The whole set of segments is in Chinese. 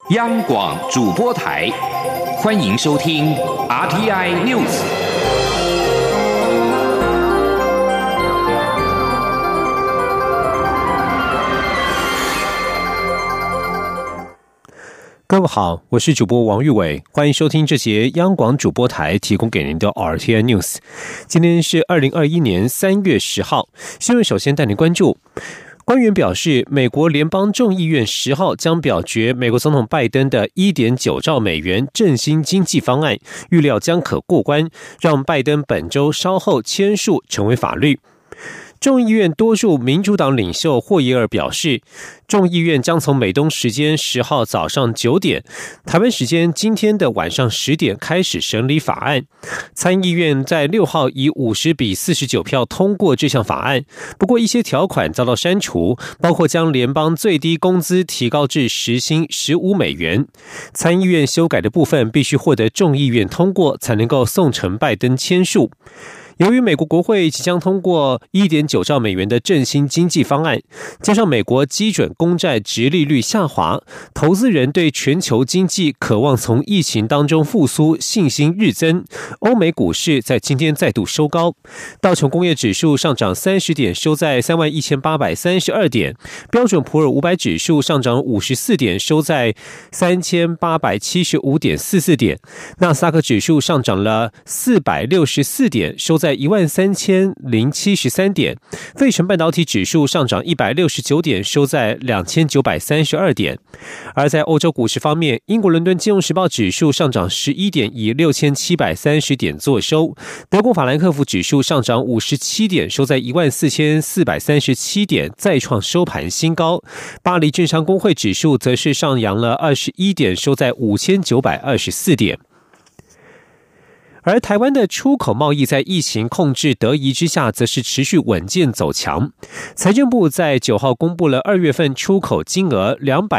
央广主播台，欢迎收听 RTI News。 各位好，我是主播王玉伟，欢迎收听这节央广主播台提供给您的 RTI News。今天是2021年3月10号，新闻首先带您关注。官员表示，美国联邦众议院10号将表决美国总统拜登的 1.9 兆美元振兴经济方案，预料将可过关，让拜登本周稍后签署成为法律。众议院多数民主党领袖霍耶尔表示，众议院将从美东时间10号早上9点，台湾时间今天的晚上10点开始审理法案。参议院在6号以50比49票通过这项法案，不过一些条款遭到删除，包括将联邦最低工资提高至时薪15美元。参议院修改的部分必须获得众议院通过，才能够送呈拜登签署。由于美国国会即将通过 1.9 兆美元的振兴经济方案，加上美国基准公债殖利率下滑，投资人对全球经济渴望从疫情当中复苏信心日增。欧美股市在今天再度收高，道琼工业指数上涨30点，收在31,832点；标准普尔500指数上涨54点，收在3,875.44点；纳斯达克指数上涨了464点，收在13,073点，费城半导体指数上涨169点，收在2,932点。而在欧洲股市方面，英国伦敦金融时报指数上涨11点，以6,730点作收；德国法兰克福指数上涨57点，收在14,437点，再创收盘新高。巴黎政商工会指数则是上扬了21点，收在5,924点。而台湾的出口贸易在疫情控制得宜之下，则是持续稳健走强。财政部在9号公布了2月份出口金额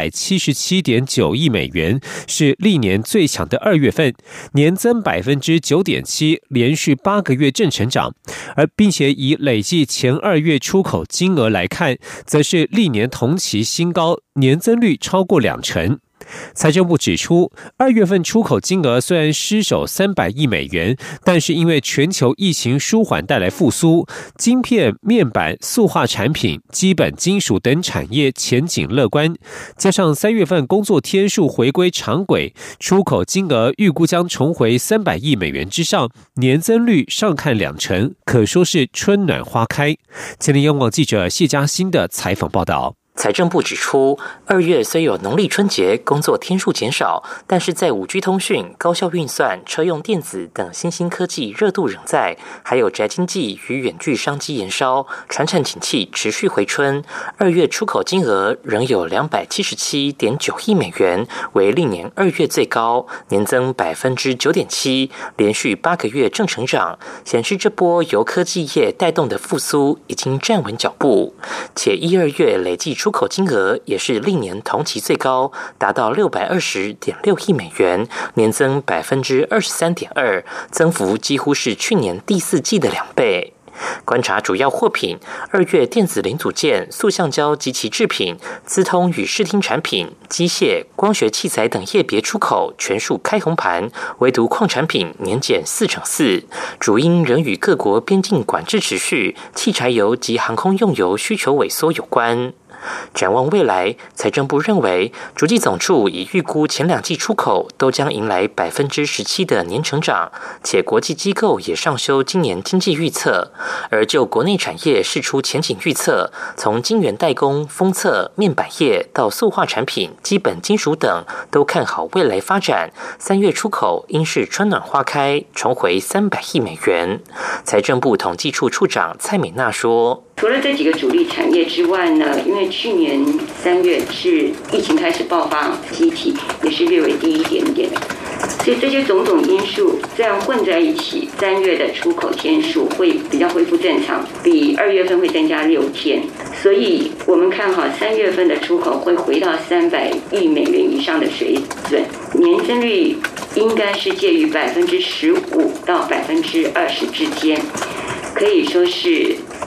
277.9亿美元，是历年最强的2月份，年增 9.7%， 连续8个月正成长。而并且以累计前2月出口金额来看，则是历年同期新高，年增率超过20%。财政部指出，2月份出口金额虽然失守300亿美元，但是因为全球疫情舒缓带来复苏，晶片、面板、塑化产品、基本金属等产业前景乐观，加上3月份工作天数回归常轨，出口金额预估将重回300亿美元之上，年增率上看20%，可说是春暖花开。前天央广记者谢嘉欣的采访报道。 财政部指出，2月虽有农历春节工作天数减少，但是在 5G 通讯、高效运算、车用电子等新兴科技热度仍在，还有宅经济与远距商机延烧，传产景气持续回春。2月出口金额仍有277.9亿美元，为历年2月最高，年增 9.7%， 连续8个月正成长，显示这波由科技业带动的复苏已经站稳脚步。且1、2月累计出口金额也是历年同期最高，达到620.6亿美元，年增 23.2%， 增幅几乎是去年第4季的2倍。观察主要货品，2月电子零组件、塑橡胶及其制品、资通与视听产品、机械、光学器材等业别出口全数开红盘，唯独矿产品年减4.4%，主因仍与各国边境管制持续、汽柴油及航空用油需求萎缩有关。展望未来，财政部认为，主计总处已预估前2季出口都将迎来 17% 的年成长，且国际机构也上修今年经济预测。而就国内产业释出前景预测，从晶圆代工、封测、面板业到塑化产品、基本金属等，都看好未来发展。3月出口应是春暖花开，重回300亿美元。财政部统计处处长蔡美娜说， 除了这几个主力产业之外呢，因为去年3月是疫情开始爆发机体，也是略微低一点点，所以这些种种因素这样混在一起，3月的出口天数会比较恢复正常，比2月份会增加6天，所以我们看好3月份的出口会回到300亿美元以上的水准，年增率应该是介于15%到20%之间，可以说是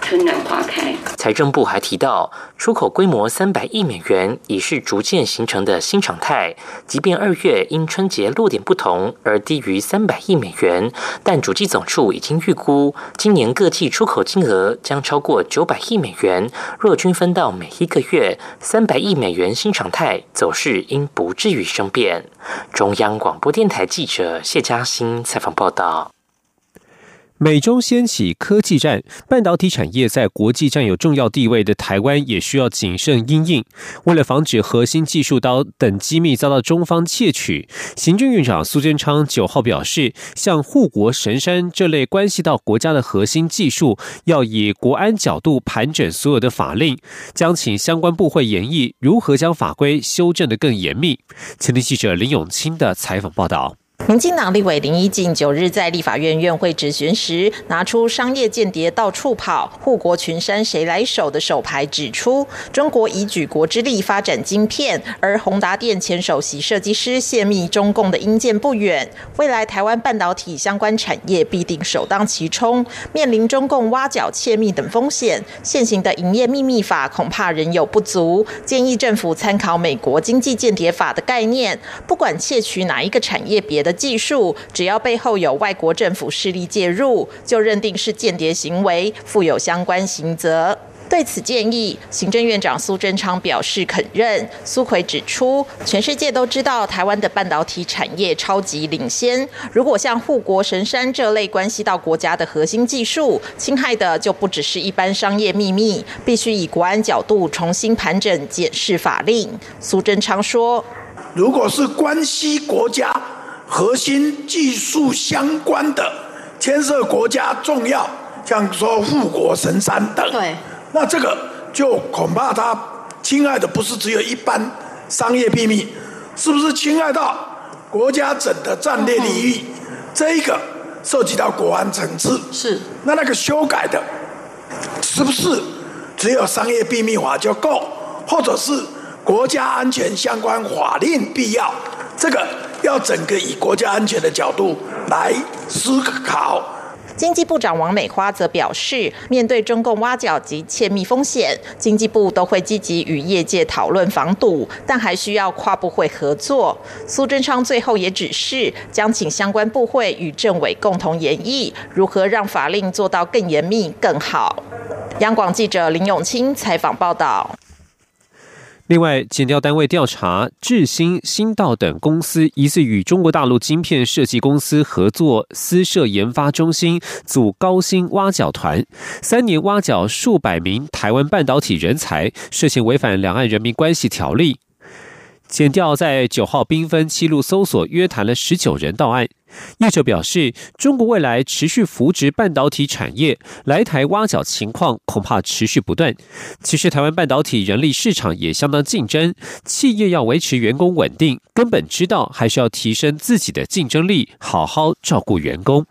春暖花开。 财政部还提到，出口规模300亿美元已是逐渐形成的新常态。即便2月因春节落点不同而低于300亿美元，但主计总处已经预估，今年各季出口金额将超过900亿美元。若均分到每一个月，300亿美元新常态走势应不至于生变。中央广播电台记者谢嘉欣采访报道。 美中掀起科技战，半导体产业在国际占有重要地位的台湾也需要谨慎因应。为了防止核心技术刀等机密遭到中方窃取，行政院长苏贞昌9号表示，像护国神山这类关系到国家的核心技术，要以国安角度盘整所有的法令，将请相关部会研议如何将法规修正得更严密。前天记者林永清的采访报道。 民进党立委林怡静9日在立法院院会质询时，拿出商业间谍到处跑，护国群山谁来守的手牌，指出中国以举国之力发展晶片，而宏达电前首席设计师泄密中共的阴间不远，未来台湾半导体相关产业必定首当其冲，面临中共挖角窃密等风险。现行的营业秘密法恐怕仍有不足，建议政府参考美国经济间谍法的概念，不管窃取哪一个产业别的技术，只要背后有外国政府势力介入，就认定是间谍行为，负有相关刑责。对此建议，行政院长苏贞昌表示肯认。苏揆指出，全世界都知道台湾的半导体产业超级领先，如果像护国神山这类关系到国家的核心技术，侵害的就不只是一般商业秘密，必须以国安角度重新盘整检视法令。苏贞昌说， 如果是关系国家核心技术相关的，牵涉国家重要，像说护国神山等，对，那这个就恐怕它侵害的不是只有一般商业秘密，是不是侵害到国家整的战略利益？这一个涉及到国安层次，是那个修改的，是不是只有商业秘密法就够，或者是国家安全相关法令必要？这个要整个以国家安全的角度来思考。 经济部长王美花则表示，面对中共挖角及窃密风险，经济部都会积极与业界讨论防堵，但还需要跨部会合作。苏贞昌最后也指示，将请相关部会与政委共同研议，如何让法令做到更严密更好。央广记者林永清采访报道。 另外，检调单位调查智新、新道等公司疑似与中国大陆晶片设计公司合作私设研发中心，组高薪挖角团，3年挖角数百名台湾半导体人才，涉嫌违反两岸人民关系条例。检调在9号兵分7路搜索，约谈了19人到案。业者表示，中国未来持续扶植半导体产业，来台挖角情况恐怕持续不断。其实台湾半导体人力市场也相当竞争，企业要维持员工稳定，根本知道还是要提升自己的竞争力，好好照顾员工。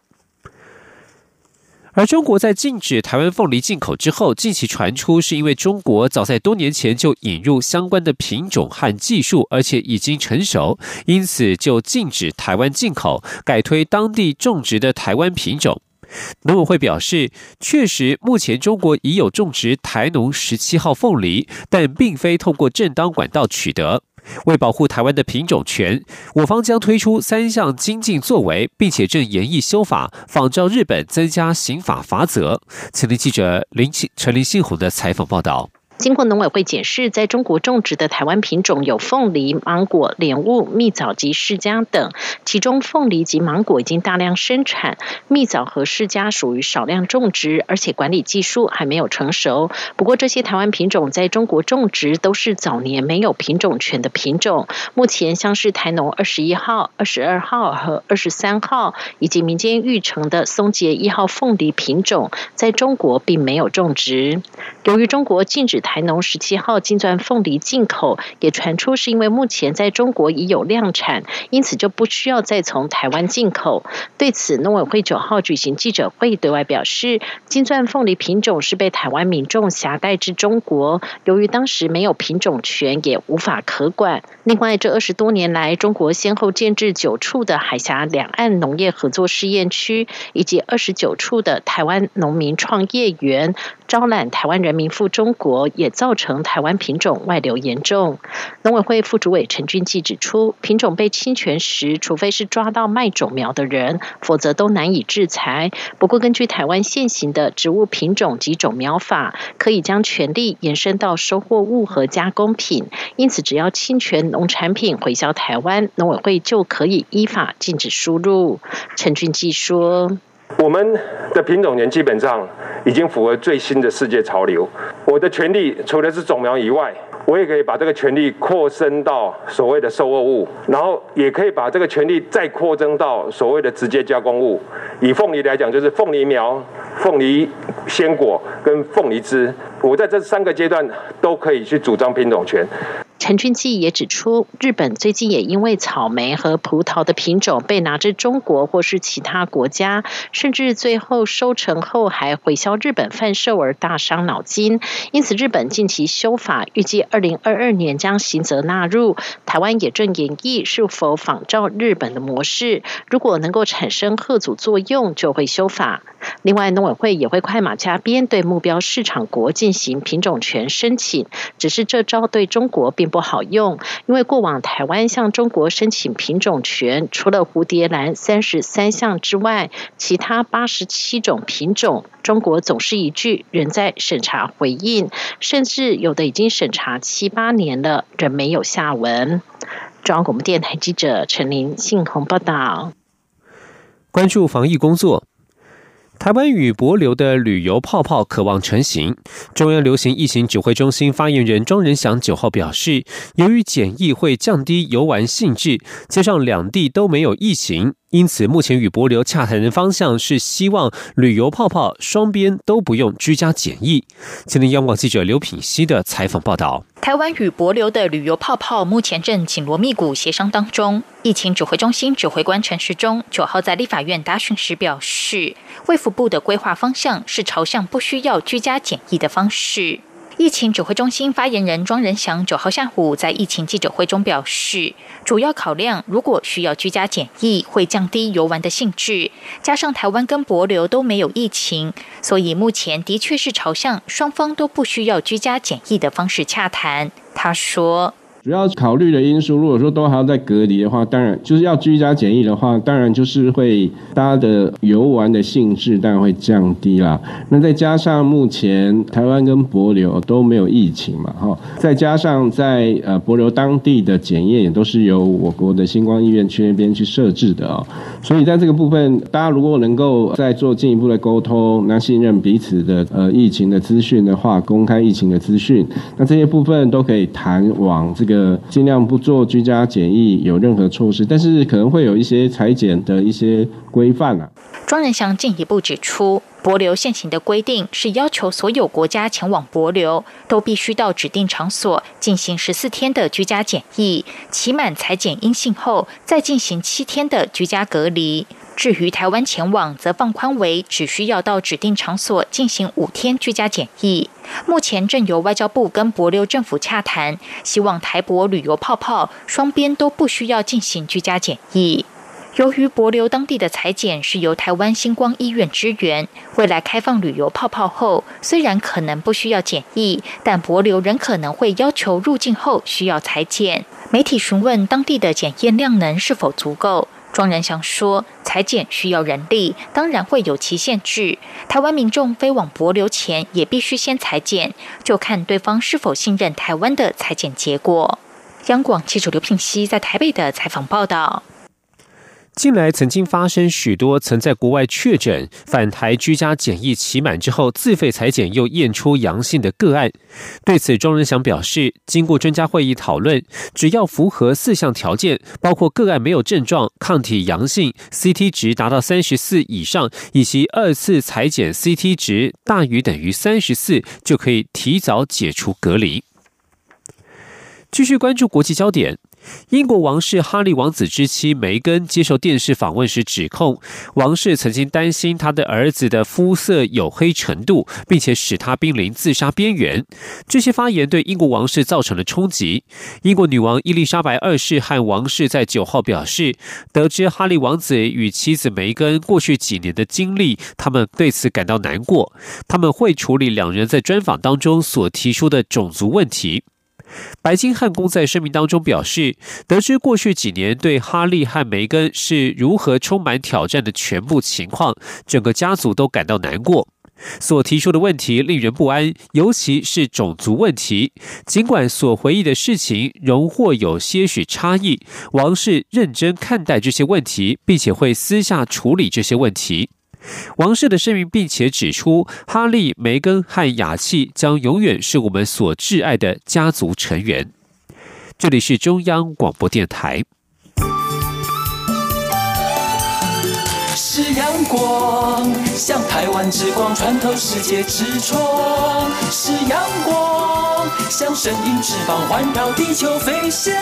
而中国在禁止台湾凤梨进口之后，近期传出是因为中国早在多年前就引入相关的品种和技术，而且已经成熟，因此就禁止台湾进口，改推当地种植的台湾品种。农委会表示，确实目前中国已有种植台农17号凤梨，但并非透过正当管道取得。为保护台湾的品种权，我方将推出3项精进作为，并且正研议修法，仿照日本增加刑法罚则。前天记者陈林信宏的采访报道。 经过农委会检视，在中国种植的台湾品种有凤梨、芒果、莲雾、蜜枣及释迦等，其中凤梨及芒果已经大量生产，蜜枣和释迦属于少量种植，而且管理技术还没有成熟。不过这些台湾品种在中国种植都是早年没有品种权的品种，目前像是台农21号、22号和23号，以及民间育成的松节1号凤梨品种，在中国并没有种植。由于中国禁止台农17号金钻凤梨进口，也传出是因为目前在中国已有量产，因此就不需要再从台湾进口。对此，农委会9号举行记者会，对外表示，金钻凤梨品种是被台湾民众挟带至中国，由于当时没有品种权，也无法可管。另外，这20多年来，中国先后建置9处的海峡两岸农业合作试验区，以及29处的台湾农民创业园， 招揽台湾人民赴中国，也造成台湾品种外流严重。农委会副主委陈俊记指出，品种被侵权时，除非是抓到卖种苗的人，否则都难以制裁。不过，根据台湾现行的植物品种及种苗法，可以将权利延伸到收获物和加工品，因此只要侵权农产品回销台湾，农委会就可以依法禁止输入。陈俊记说， 我们的品种权基本上已经符合最新的世界潮流。我的权利除了是种苗以外，我也可以把这个权利扩伸到所谓的收获物，然后也可以把这个权利再扩增到所谓的直接加工物。以凤梨来讲，就是凤梨苗、凤梨鲜果跟凤梨汁，我在这3个阶段都可以去主张品种权。 陈俊记也指出，日本最近也因为草莓和葡萄的品种被拿至中国或是其他国家，甚至最后收成后还回销日本贩售而大伤脑筋。因此，日本近期修法，预计2022年将刑责纳入。台湾也正研议是否仿照日本的模式，如果能够产生吓阻作用，就会修法。另外，农委会也会快马加鞭对目标市场国进行品种权申请，只是这招对中国并不好用，因为过往台湾向中国申请品种权，除了蝴蝶兰33项之外，其他87种品种，中国总是一句仍在审查回应，甚至有的已经审查7、8年了，仍没有下文。中央广播电台记者陈琳信鸿报道。 关注防疫工作。台湾与帛琉的旅游泡泡可望成型。中央流行疫情指挥中心发言人庄仁祥9号表示，由于检疫会降低游玩兴致，加上两地都没有疫情，因此目前与帛琉洽谈的方向是希望旅游泡泡双边都不用居家检疫。前天央广记者刘品希的采访报道。 台湾与帛琉的旅游泡泡目前正紧锣密鼓协商当中。疫情指挥中心指挥官陈时中9号在立法院答询时表示，卫福部的规划方向是朝向不需要居家检疫的方式。疫情指挥中心发言人庄仁祥9号下午在疫情记者会中表示，主要考量如果需要居家检疫，会降低游玩的兴致，加上台湾跟帛琉都没有疫情，所以目前的确是朝向双方都不需要居家检疫的方式洽谈。他说， 主要考虑的因素，如果说都还要再隔离的话，当然就是要居家检疫的话，当然就是会大家的游玩的兴致当然会降低啦。那再加上目前台湾跟帛琉都没有疫情嘛，再加上在帛琉当地的检验也都是由我国的星光医院去那边去设置的哦，所以在这个部分，大家如果能够再做进一步的沟通，那信任彼此的疫情的资讯的话，公开疫情的资讯，那这些部分都可以谈往这个尽量不做居家检疫有任何措施，但是可能会有一些采检的一些规范啊。 庄仁祥进一步指出，帛琉现行的规定是要求所有国家前往帛琉都必须到指定场所进行14天的居家检疫，期满采检阴性后再进行7天的居家隔离。至于台湾前往，则放宽为只需要到指定场所进行5天居家检疫。目前正由外交部跟帛琉政府洽谈，希望台帛旅游泡泡双边都不需要进行居家检疫。由于帛琉当地的采检是由台湾星光医院支援，未来开放旅游泡泡后，虽然可能不需要检疫，但帛琉仍可能会要求入境后需要采检。媒体询问当地的检验量能是否足够，庄仁祥说，采检需要人力，当然会有其限制。台湾民众飞往帛琉前也必须先采检，就看对方是否信任台湾的采检结果。央广记者刘品希在台北的采访报道。 近来曾经发生许多曾在国外确诊返台居家检疫期满之后自费采检又验出阳性的个案。对此，庄仁祥表示，经过专家会议讨论，只要符合4项条件，包括个案没有症状、抗体阳性、CT 值达到34以上，以及2次采检 CT 值大于等于34，就可以提早解除隔离。继续关注国际焦点。 英国王室哈利王子之妻梅根接受电视访问时指控，王室曾经担心他的儿子的肤色黝黑程度，并且使他濒临自杀边缘。这些发言对英国王室造成了冲击。英国女王伊丽莎白二世和王室在9号表示，得知哈利王子与妻子梅根过去几年的经历，他们对此感到难过。他们会处理两人在专访当中所提出的种族问题。白金汉宫在声明当中表示，得知过去几年对哈利和梅根是如何充满挑战的全部情况，整个家族都感到难过。所提出的问题令人不安，尤其是种族问题。尽管所回忆的事情仍或有些许差异，王室认真看待这些问题，并且会私下处理这些问题。王室的声明并且指出，哈利、梅根和雅契将永远是我们所挚爱的家族成员。这里是中央广播电台。 是阳光，像台湾之光穿透世界之窗；是阳光，像神鹰翅膀环绕地球飞翔。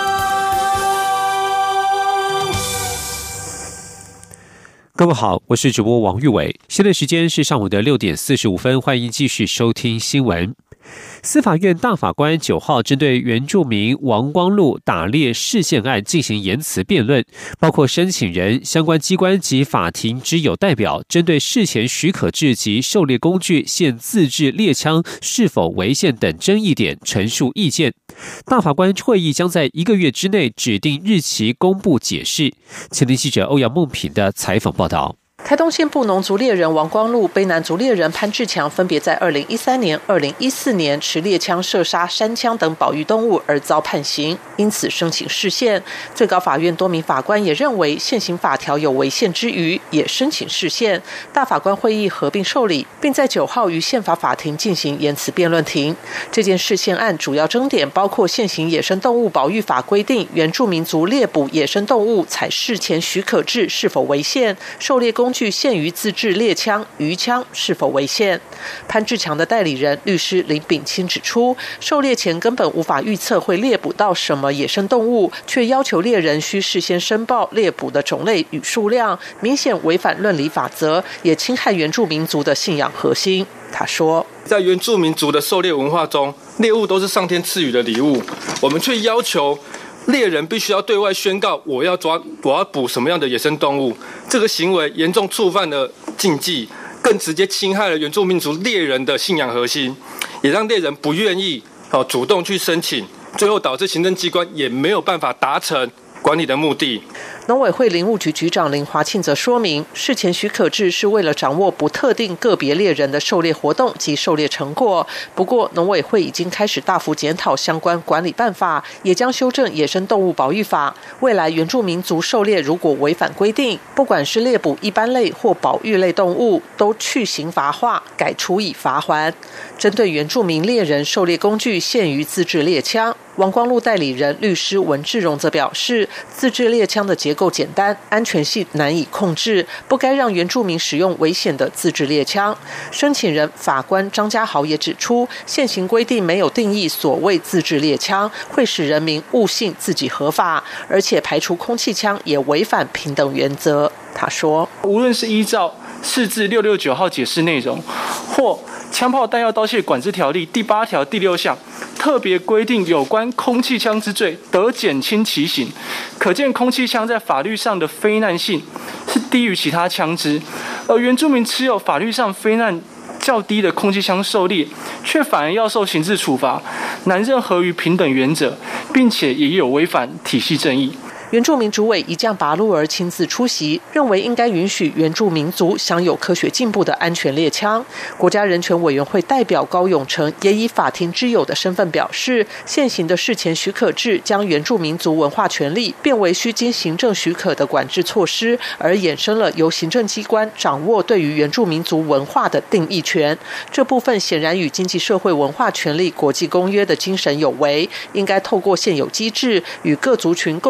各位好，我是主播王玉伟，现在时间是上午的6点45分，欢迎继续收听新闻。司法院大法官9号针对原住民王光禄打猎释宪案进行言辞辩论，包括申请人、相关机关及法庭之友代表针对事前许可制及狩猎工具现自制猎枪是否违宪等争议点陈述意见。大法官会议将在1个月之内指定日期公布解释。前天记者欧阳梦平的采访报道。 台东县布农族猎人王光禄、卑南族猎人潘志强分别在2013年、2014年持猎枪射杀山羌等保育动物而遭判刑，因此申请释宪。最高法院多名法官也认为现行法条有违宪之余，也申请释宪。大法官会议合并受理，并在9号于宪法法庭进行言辞辩论庭。这件释宪案主要争点包括现行野生动物保育法规定原住民族猎捕野生动物采事前许可制是否违宪，狩猎工具限于自制猎枪、鱼枪是否违宪。潘志强的代理人律师林炳清指出，狩猎前根本无法预测会猎捕到什么野生动物，却要求猎人需事先申报猎捕的种类与数量，明显违反论理法则，也侵害原住民族的信仰核心。他说， 在原住民族的狩猎文化中，猎物都是上天赐予的礼物，我们却要求猎人必须要对外宣告我要捕什么样的野生动物，这个行为严重触犯了禁忌，更直接侵害了原住民族猎人的信仰核心，也让猎人不愿意主动去申请，最后导致行政机关也没有办法达成管理的目的。 农委会林务局局长林华庆则说明，事前许可制是为了掌握不特定个别猎人的狩猎活动及狩猎成果。不过，农委会已经开始大幅检讨相关管理办法，也将修正野生动物保育法。未来原住民族狩猎如果违反规定，不管是猎捕一般类或保育类动物，都去刑罚化，改处以罚锾。针对原住民猎人狩猎工具限于自制猎枪，王光禄代理人律师文志荣则表示，自制猎枪的结构简单，安全性难以控制，不该让原住民使用危险的自制猎枪。申请人法官张家豪也指出，现行规定没有定义所谓自制猎枪，会使人民误信自己合法，而且排除空气枪也违反平等原则。他说， 无论是依照释字669号解释内容，或枪炮弹药刀械管制条例第8条第6项特别规定有关空气枪之罪得减轻其刑，可见空气枪在法律上的非难性是低于其他枪支，而原住民持有法律上非难较低的空气枪狩猎，却反而要受刑事处罚，难认合于平等原则，并且也有违反体系正义。 原住民主委一将拔路儿亲自出席，认为应该允许原住民族享有科学进步的安全猎枪。国家人权委员会代表高永成也以法庭之友的身份表示，现行的事前许可制将原住民族文化权利变为需经行政许可的管制措施，而衍生了由行政机关掌握对于原住民族文化的定义权。这部分显然与经济社会文化权利国际公约的精神有违，应该透过现有机制与各族群共同归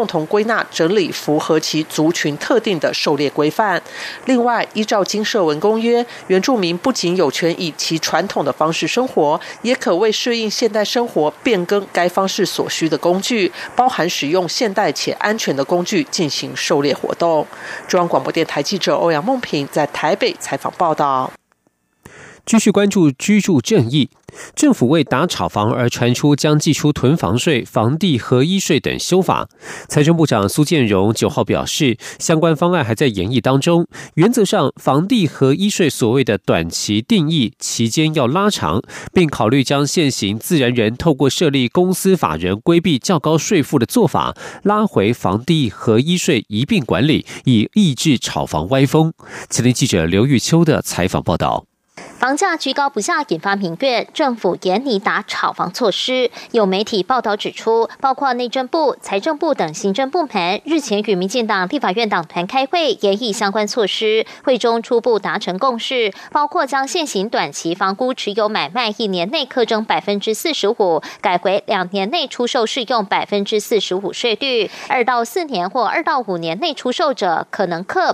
纳整理符合其族群特定的狩猎规范。另外，依照经社文公约，原住民不仅有权以其传统的方式生活，也可为适应现代生活变更该方式所需的工具，包含使用现代且安全的工具进行狩猎活动。中央广播电台记者欧阳梦平在台北采访报道。 继续关注居住正义，政府为打炒房而传出将祭出囤房税、房地合一税等修法。财政部长苏建荣9号表示，相关方案还在研议当中，原则上房地合一税所谓的短期定义期间要拉长，并考虑将现行自然人透过设立公司法人规避较高税负的做法拉回房地合一税一并管理，以抑制炒房歪风。前天记者刘玉秋的采访报道。 房价居高不下，引发民怨，政府严拟打炒房措施。有媒体报道指出，包括内政部、财政部等行政部门日前与民进党立法院党团开会，研议相关措施。会中初步达成共识，包括将现行短期房屋持有买卖1年内课征45%，改回2年内出售适用45%税率，2到4年或2到5年内出售者可能课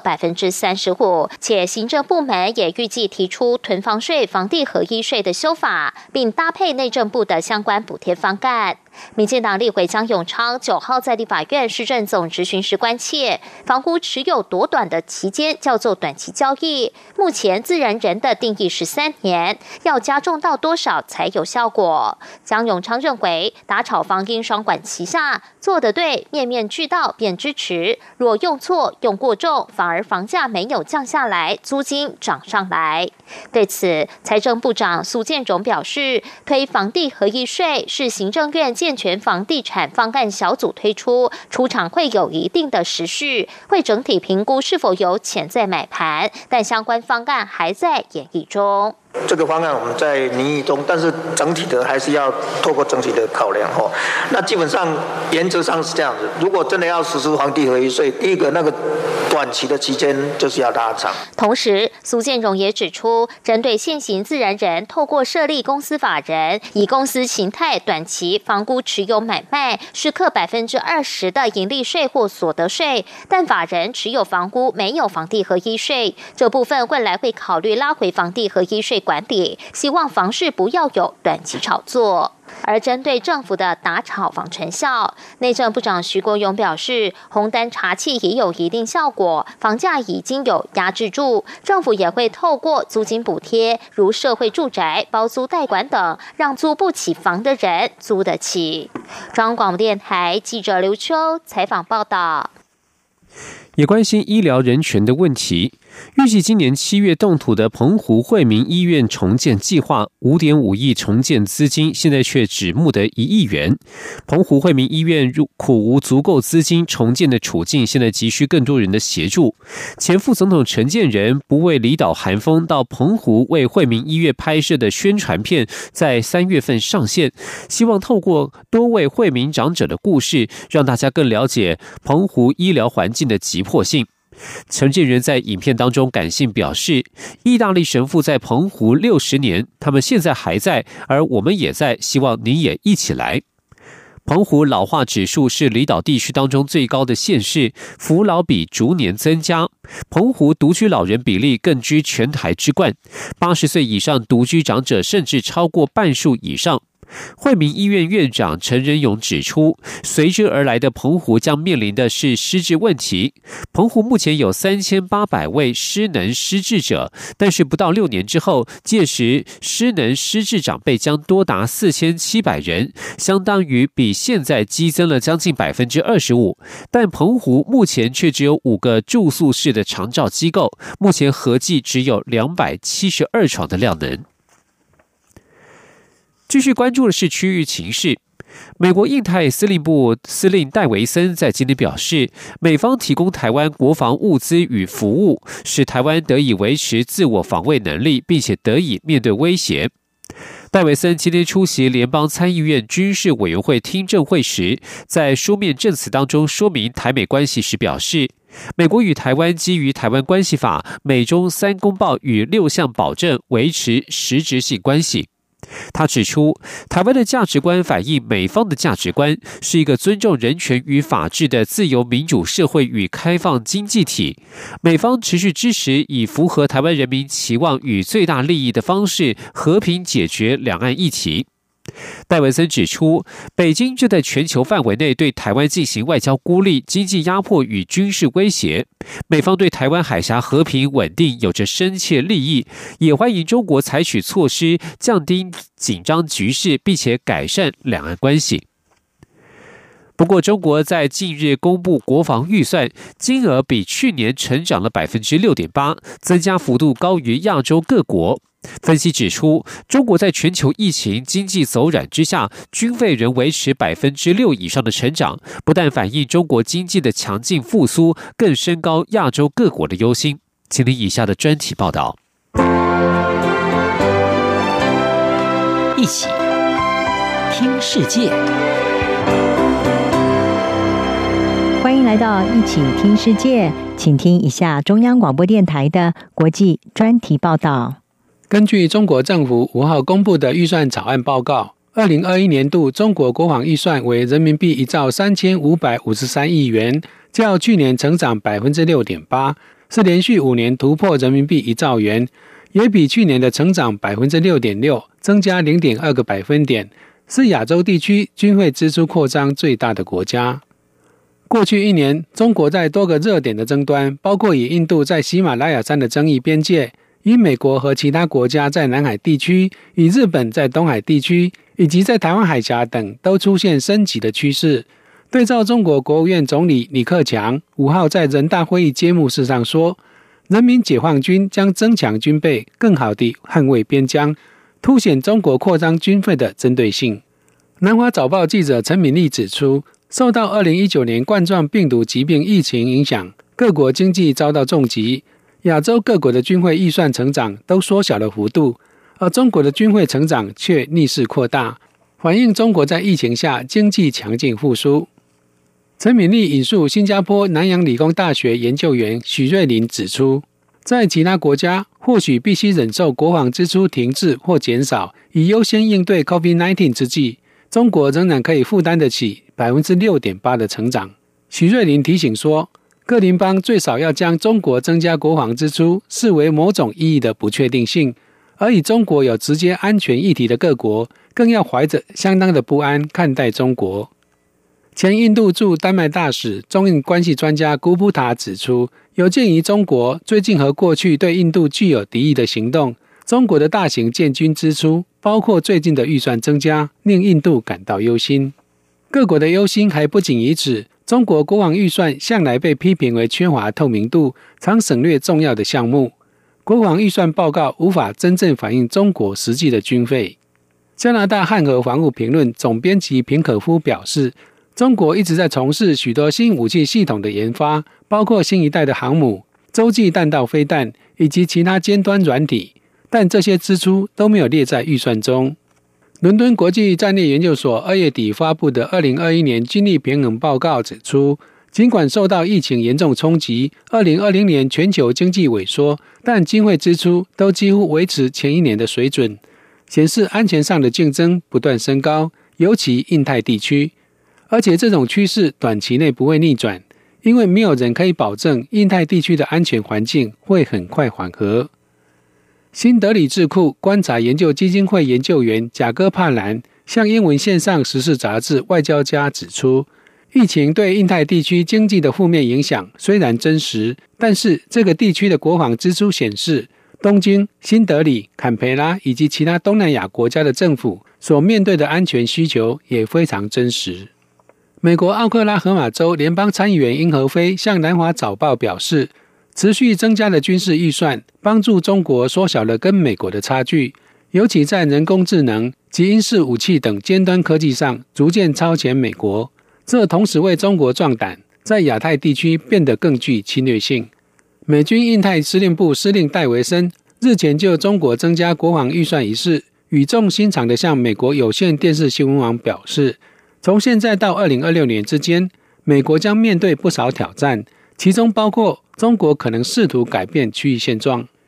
35%。且行政部门也预计提出囤房税、房地合一税的修法，并搭配内政部的相关补贴方案。民进党立委江永昌9号在立法院市政总质询时关切，房屋持有多短的期间叫做短期交易，目前自然人的定义是3年，要加重到多少才有效果？江永昌认为，打炒房应双管齐下，做得对，面面俱到便支持；若用错、用过重，反而房价没有降下来，租金涨上来。对此，财政部长苏建荣表示，推房地合一税是行政院健全房地产方案小组推出，出场会有一定的时序，会整体评估是否有潜在买盘，但相关方案还在研议中。 这个方案我们在拟议中，但是整体的还是要透过整体的考量哦。那基本上原则上是这样子，如果真的要实施房地合一税，第一个那个短期的期间就是要拉长。同时，苏建荣也指出，针对现行自然人透过设立公司法人，以公司形态短期房屋持有买卖，是课20%的盈利税或所得税，但法人持有房屋没有房地合一税，这部分未来会考虑拉回房地合一税管理，希望房市不要有短期炒作。而针对政府的打炒房成效，内政部长徐国勇表示，红单查缉也有一定效果，房价已经有压制住，政府也会透过租金补贴，如社会住宅、包租代管等，让租不起房的人租得起。中央广播电台记者刘秋采访报道。 也关心医疗人权的问题。预计今年7月动土的澎湖惠民医院重建计划5.5亿重建资金，现在却只募得1亿元。澎湖惠民医院苦无足够资金重建的处境，现在急需更多人的协助。前副总统陈建仁不畏离岛寒风，到澎湖为惠民医院拍摄的宣传片，在3月份上线，希望透过多位惠民长者的故事，让大家更了解澎湖医疗环境的急迫性。陈建仁在影片当中感性表示，意大利神父在澎湖60年，他们现在还在，而我们也在，希望你也一起来。澎湖老化指数是离岛地区当中最高的县市，扶老比逐年增加。澎湖独居老人比例更居全台之冠，80岁以上独居长者甚至超过半数以上。惠民医院院长陈仁勇指出，随之而来的澎湖将面临的是失智问题。澎湖目前有3800位失能失智者，但是不到6年之后，届时失能失智长辈将多达4700人，相当于比现在激增了将近25%。但澎湖目前却只有5个住宿式的长照机构，目前合计只有272床的量能。继续关注的是区域情势。美国印太司令部司令戴维森在今天表示，美方提供台湾国防物资与服务，使台湾得以维持自我防卫能力，并且得以面对威胁。戴维森今天出席联邦参议院军事委员会听证会时，在书面证词当中说明台美关系时表示，美国与台湾基于《台湾关系法》、美中3公报与6项保证维持实质性关系。 他指出，台湾的价值观反映美方的价值观，是一个尊重人权与法治的自由民主社会与开放经济体。美方持续支持以符合台湾人民期望与最大利益的方式和平解决两岸议题。戴文森指出，北京就在全球范围内对台湾进行外交孤立、经济压迫与军事威胁。美方对台湾海峡和平稳定有着深切利益，也欢迎中国采取措施降低紧张局势，并且改善两岸关系。不过，中国在近日公布国防预算，金额比去年成长了 6.8%， 增加幅度高于亚洲各国。分析指出，中国在全球疫情经济走软之下，军费仍维持 6% 以上的成长，不但反映中国经济的强劲复苏，更升高亚洲各国的忧心。请听以下的专题报道。 一起听世界， 欢迎来到一起听世界，请听一下中央广播电台的国际专题报道。 根据中国政府5号公布的预算草案报告，2021年度中国国防预算为人民币1兆3553亿元，较去年成长 6.8%， 是连续5年突破人民币1兆元，也比去年的成长 6.6%， 增加 0.2 个百分点，是亚洲地区军费支出扩张最大的国家。过去1年，中国在多个热点的争端，包括与印度在喜马拉雅山的争议边界，与美国和其他国家在南海地区，与日本在东海地区，以及在台湾海峡等都出现升级的趋势。对照中国国务院总理李克强5号在人大会议揭幕式上说，人民解放军将增强军备，更好地捍卫边疆，凸显中国扩张军费的针对性。南华早报记者陈敏丽指出，受到2019年冠状病毒疾病疫情影响，各国经济遭到重击，亚洲各国的军费预算成长都缩小了幅度，而中国的军费成长却逆势扩大，反映中国在疫情下经济强劲复苏。陈敏丽引述新加坡南洋理工大学研究员许瑞麟指出，在其他国家或许必须忍受国防支出停滞或减少，以优先应对 COVID-19 之际，中国仍然可以负担得起 6.8% 的成长。许瑞麟提醒说，各邻邦最少要将中国增加国防支出视为某种意义的不确定性，而与中国有直接安全议题的各国更要怀着相当的不安看待中国。前印度驻丹麦大使、中印关系专家古布塔指出，有鉴于中国最近和过去对印度具有敌意的行动，中国的大型建军支出，包括最近的预算增加，令印度感到忧心。各国的忧心还不仅于此，中国国防预算向来被批评为缺乏透明度，常省略重要的项目。国防预算报告无法真正反映中国实际的军费。加拿大汉和防务评论总编辑平可夫表示，中国一直在从事许多新武器系统的研发，包括新一代的航母、洲际弹道飞弹以及其他尖端软体，但这些支出都没有列在预算中。伦敦国际战略研究所2月底发布的2021年军力平衡报告指出，尽管受到疫情严重冲击，2020年全球经济萎缩，但军费支出都几乎维持前一年的水准，显示安全上的竞争不断升高，尤其印太地区。而且这种趋势短期内不会逆转，因为没有人可以保证印太地区的安全环境会很快缓和。新德里智库观察研究基金会研究员贾戈帕兰向英文线上时事杂志《外交家》指出，疫情对印太地区经济的负面影响虽然真实，但是这个地区的国防支出显示，东京、新德里、坎培拉以及其他东南亚国家的政府所面对的安全需求也非常真实。美国奥克拉荷马州联邦参议员英和飞向南华早报表示，持续增加的军事预算帮助中国缩小了跟美国的差距，尤其在人工智能及因式武器等尖端科技上逐渐超前美国，这同时为中国壮胆，在亚太地区变得更具侵略性。美军印太司令部司令戴维森日前就中国增加国防预算一事，语重心长地向美国有线电视新闻网表示，从现在到2026年之间，美国将面对不少挑战，其中包括中国可能试图改变区域现状。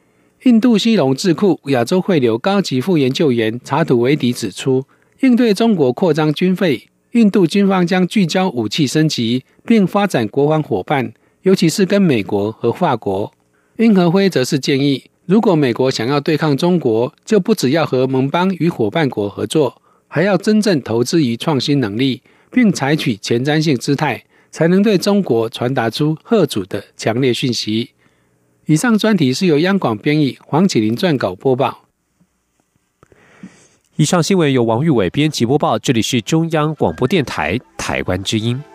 印度西隆智库亚洲汇流高级副研究员查土维迪指出，应对中国扩张军费，印度军方将聚焦武器升级，并发展国防伙伴，尤其是跟美国和法国。殷和辉则是建议，如果美国想要对抗中国，就不只要和盟邦与伙伴国合作，还要真正投资于创新能力，并采取前瞻性姿态，才能对中国传达出嚇阻的强烈讯息。以上专题是由央广编译，黄启麟撰稿播报。 以上新闻由王玉伟编辑播报，这里是中央广播电台台湾之音。